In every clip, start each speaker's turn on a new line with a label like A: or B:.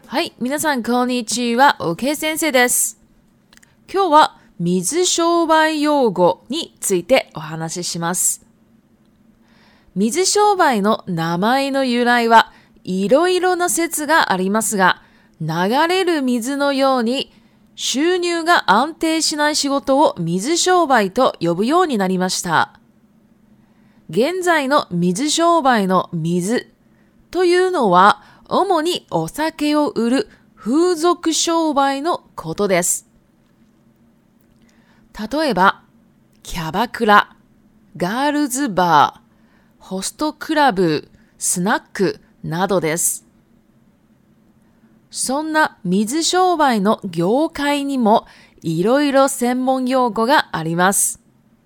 A: はい、皆さんこんにちは、OK 先生です。今日は水商売用語についてお話しします。水商売の名前の由来はいろいろな説がありますが、流れる水のように収入が安定しない仕事を水商売と呼ぶようになりました。現在の水商売の水というのは主にお酒を売る風俗商売のことです。例えば、キャバクラ、ガールズバー、ホストクラブ、スナックなどです。そんな水商売の業界にもいろいろ専門用語があります。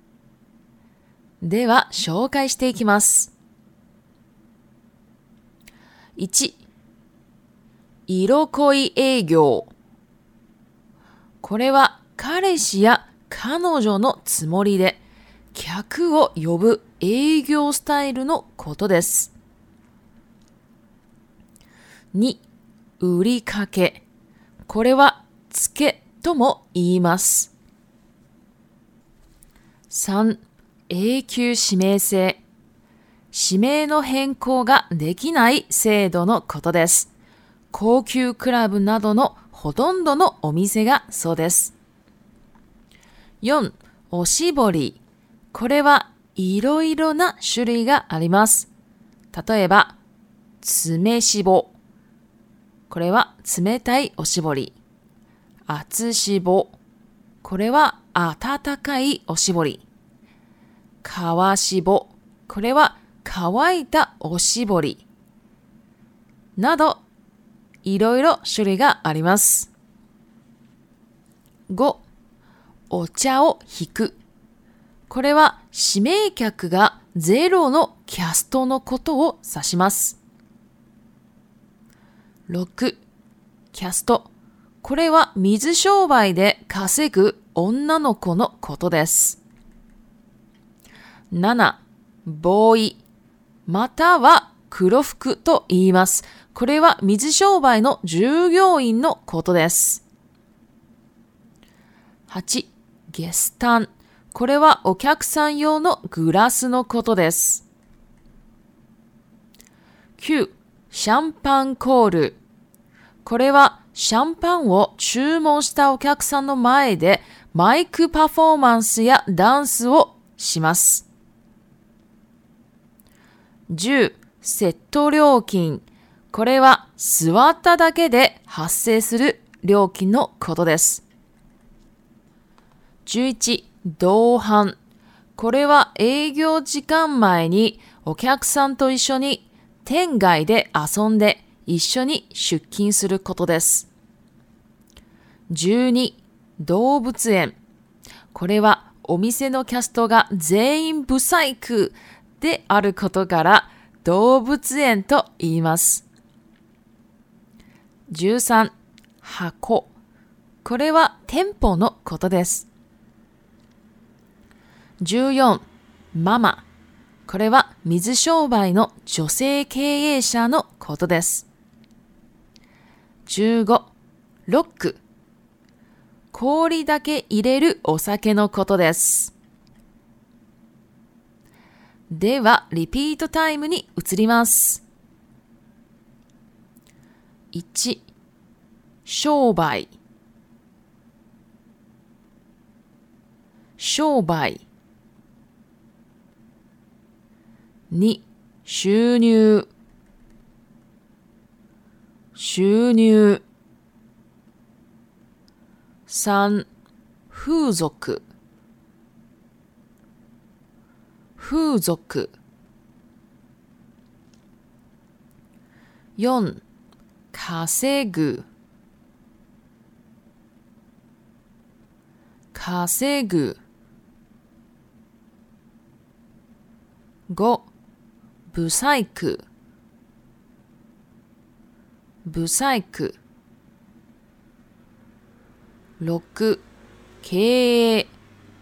A: では、紹介していきます。1、色恋営業。これは彼氏や彼女のつもりで客を呼ぶ営業スタイルのことです。2、売りかけ。これは付けとも言います。3、永久指名制。指名の変更ができない制度のことです。高級クラブなどのほとんどのお店がそうです。4、おしぼり。これはいろいろな種類があります。例えば、詰めしぼ。これは冷たいおしぼり。厚しぼ。これは温かいおしぼり。皮しぼ。これは乾いたおしぼり。など、いろいろ種類があります。5、お茶を引く。これは指名客がゼロのキャストのことを指します。6、キャスト。これは水商売で稼ぐ女の子のことです。7、ボーイ。または黒服と言います。これは水商売の従業員のことです。8、ゲスタン。これはお客さん用のグラスのことです。9、シャンパンコール。これはシャンパンを注文したお客さんの前でマイクパフォーマンスやダンスをします。10、セット料金。これは座っただけで発生する料金のことです。11、同伴。これは営業時間前にお客さんと一緒に店外で遊んで一緒に出勤することです。12、動物園。これはお店のキャストが全員ブサイクであることから動物園と言います。13、箱。これは店舗のことです。14、ママ。これは水商売の女性経営者のことです。15、ロック。氷だけ入れるお酒のことです。では、リピートタイムに移ります。1、商売。商売。2、収入。収入。3、風俗。風俗。4、稼ぐ。稼ぐ。5、ブサイク。ブサイク。6、経営。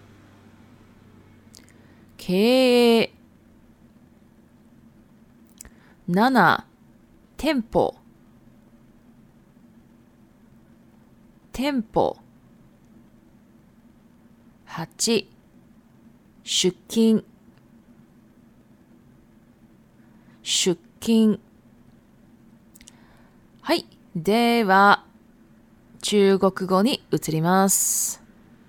A: 経営。7、店舗。 店舗。8、出勤。出勤。はい。では、中国語に移ります。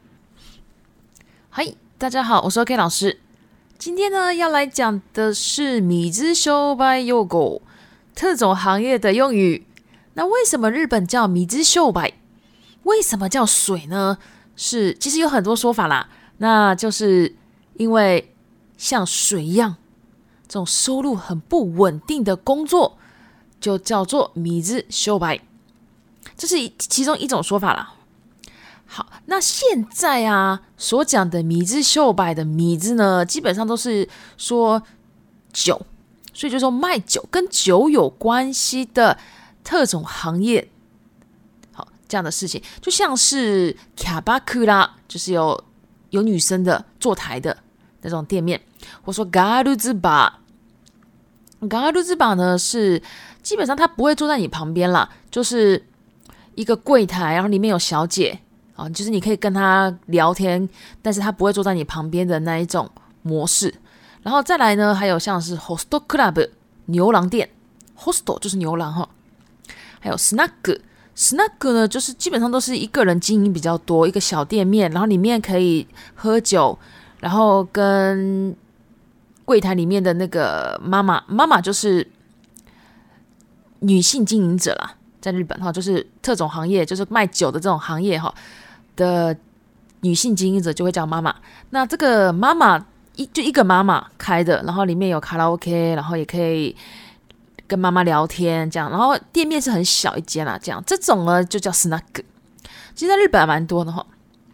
A: はい。大家好，我是 OK 老师。今天呢，要来讲的是米之商売用語，特种行业的用语。那为什么日本叫米之商売？为什么叫水呢？其实有很多说法啦。那就是因为像水一样，这种收入很不稳定的工作，就叫做米之商売。这是其中一种说法啦。好，那现在啊所讲的米之商売的米之呢，基本上都是说酒，所以就说卖酒跟酒有关系的特种行业。好，这样的事情就像是キャバクラ，就是有女生的坐台的那种店面，或说ガールズバー。ガールズバー呢是基本上他不会坐在你旁边啦，就是一个柜台，然后里面有小姐。就是你可以跟他聊天，但是他不会坐在你旁边的那一种模式。然后再来呢，还有像是 Hostel Club 牛郎店 ，Hostel 就是牛郎哈。还有 Snack 呢，就是基本上都是一个人经营比较多，一个小店面，然后里面可以喝酒，然后跟柜台里面的那个妈妈就是女性经营者啦，在日本哈，就是特种行业，就是卖酒的这种行业哈。的女性经营者就会叫妈妈。那这个妈妈就一个妈妈开的，然后里面有卡拉 OK， 然后也可以跟妈妈聊天这样，然后店面是很小一间啦，这种呢就叫 snack。其实在日本还蛮多的哈。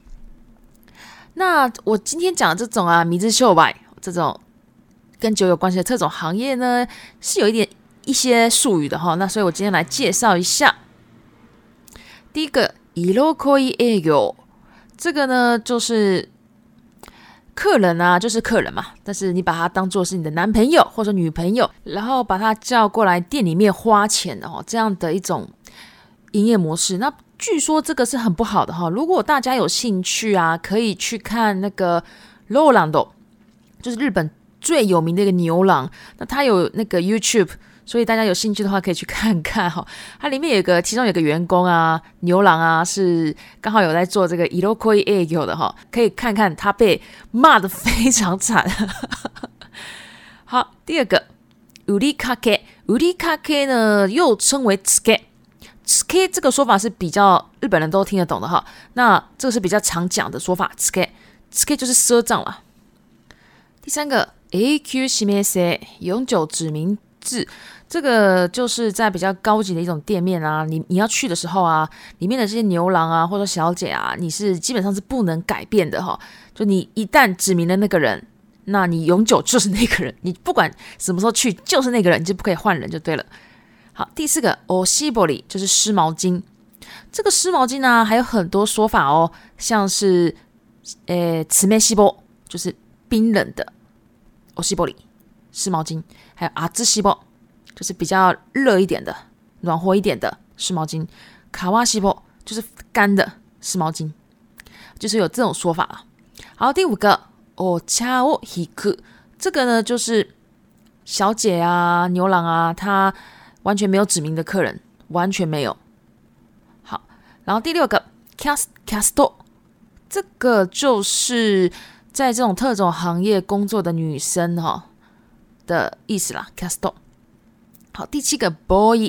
A: 那我今天讲的这种啊，米之商売这种跟酒有关系的特种行业呢，是有一些术语的哈。那所以我今天来介绍一下。第一个。色恋営業，这个呢就是客人啊，就是客人嘛，但是你把他当作是你的男朋友或者女朋友，然后把他叫过来店里面花钱的这样的一种营业模式。那据说这个是很不好的哈。如果大家有兴趣啊，可以去看那个ローランド，就是日本最有名的一个牛郎，那他有那个 YouTube。所以大家有兴趣的话，可以去看看哈。它里面其中有个员工啊，牛郎啊，是刚好有在做这个色恋営業的哈，可以看看他被骂得非常惨。好，第二个売りかけ，売りかけ呢又称为つけ，つけ这个说法是比较日本人都听得懂的哈。那这个是比较常讲的说法，つけ就是赊账啦。第三个永久指名制，永久指名制。这个就是在比较高级的一种店面啊，你要去的时候啊，里面的这些牛郎啊或者小姐啊，你是基本上是不能改變的哈。就你一旦指明了那个人，那你永久就是那个人，你不管什么时候去就是那个人，你就不可以换人就对了。好，第四个おしぼり就是湿毛巾。这个湿毛巾呢还有很多说法哦，像是冷しぼ就是冰冷的おしぼり湿毛巾，还有熱しぼ就是比较热一点的、暖和一点的湿毛巾，卡哇西波就是干的湿毛巾，就是有这种说法啊。好，第五个お茶を引く，这个呢就是小姐啊、牛郎啊，他完全没有指明的客人，完全没有。好，然后第六个キャスト，这个就是在这种特种行业工作的女生的意思啦，キャスト。好，第七个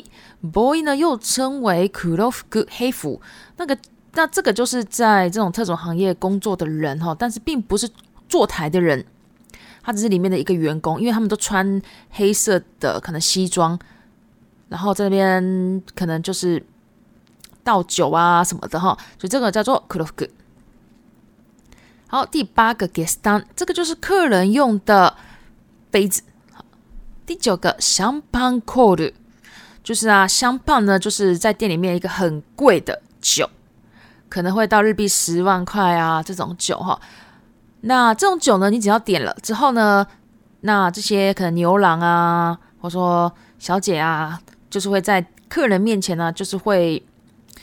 A: boy 呢又称为黒服黑服，那这个就是在这种特种行业工作的人但是并不是坐台的人，他只是里面的一个员工，因为他们都穿黑色的可能西装，然后在那边可能就是倒酒啊什么的所以这个叫做黒服。好，第八个 ゲスタン，这个就是客人用的杯子。第九个香槟コール，就是香槟呢就是在店里面一个很贵的酒，可能会到日币10万块啊这种酒那这种酒呢，你只要点了之后呢，那这些可能牛郎啊，或者说小姐啊，就是会在客人面前呢，就是会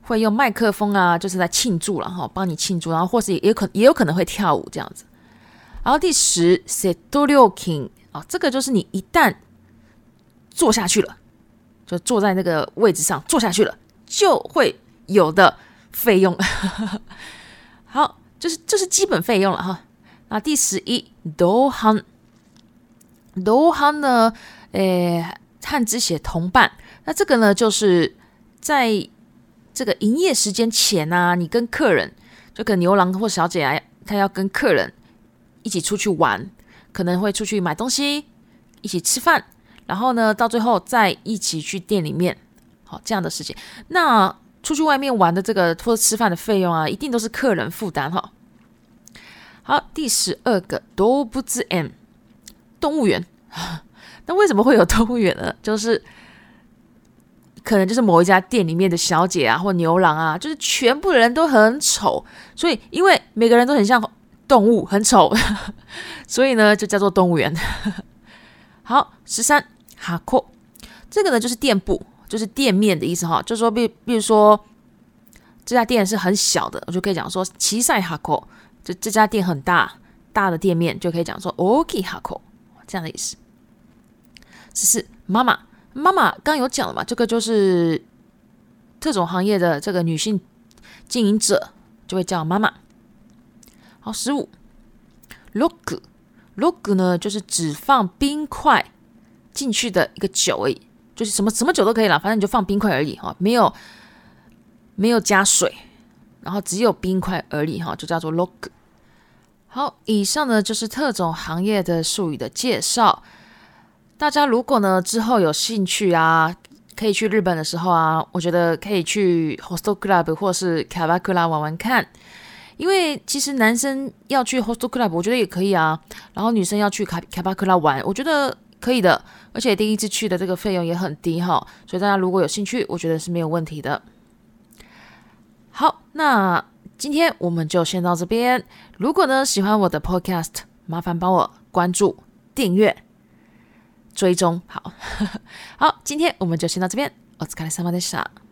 A: 会用麦克风啊，就是在庆祝了帮你庆祝，然后或是也有可能会跳舞这样子。然后第10 セット料金这个就是你一旦坐下去了，就坐在那个位置上坐下去了，就会有的费用。好，这是基本费用了哈。那第11同伴，同伴呢，汉字写同伴，那这个呢就是在这个营业时间前啊，你跟客人，就跟牛郎或小姐啊，他要跟客人一起出去玩，可能会出去买东西，一起吃饭，然后呢，到最后再一起去店里面，好这样的事情。那出去外面玩的这个或者吃饭的费用啊，一定都是客人负担哈。好，第12个動物園，动物园。那为什么会有动物园呢？就是可能就是某一家店里面的小姐啊，或牛郎啊，就是全部的人都很丑，所以因为每个人都很像动物，很丑，所以呢就叫做动物园。好，13箱，这个呢就是店铺，就是店面的意思哈，就是说比如说这家店是很小的，我就可以讲说小さい箱，这家店很大的店面，就可以讲说大きい箱，这样的意思。14妈妈，妈妈刚有讲了嘛，这个就是特种行业的这个女性经营者就会叫妈妈。好，15ロック呢就是只放冰块进去的一个酒而已，就是什么酒都可以啦，反正你就放冰块而已哈，没有加水，然后只有冰块而已哈，就叫做ロック。好，以上呢就是特种行业的术语的介绍。大家如果呢之后有兴趣啊，可以去日本的时候啊，我觉得可以去 Host Club 或是 Kabakura 玩玩看。因为其实男生要去 Host Club 我觉得也可以啊，然后女生要去 Kabakura 玩，我觉得可以的，而且第一次去的这个费用也很低哈，所以大家如果有兴趣，我觉得是没有问题的。好，那今天我们就先到这边。如果呢喜欢我的 Podcast， 麻烦帮我关注、订阅、追踪。好，今天我们就先到这边。お疲れ様でした。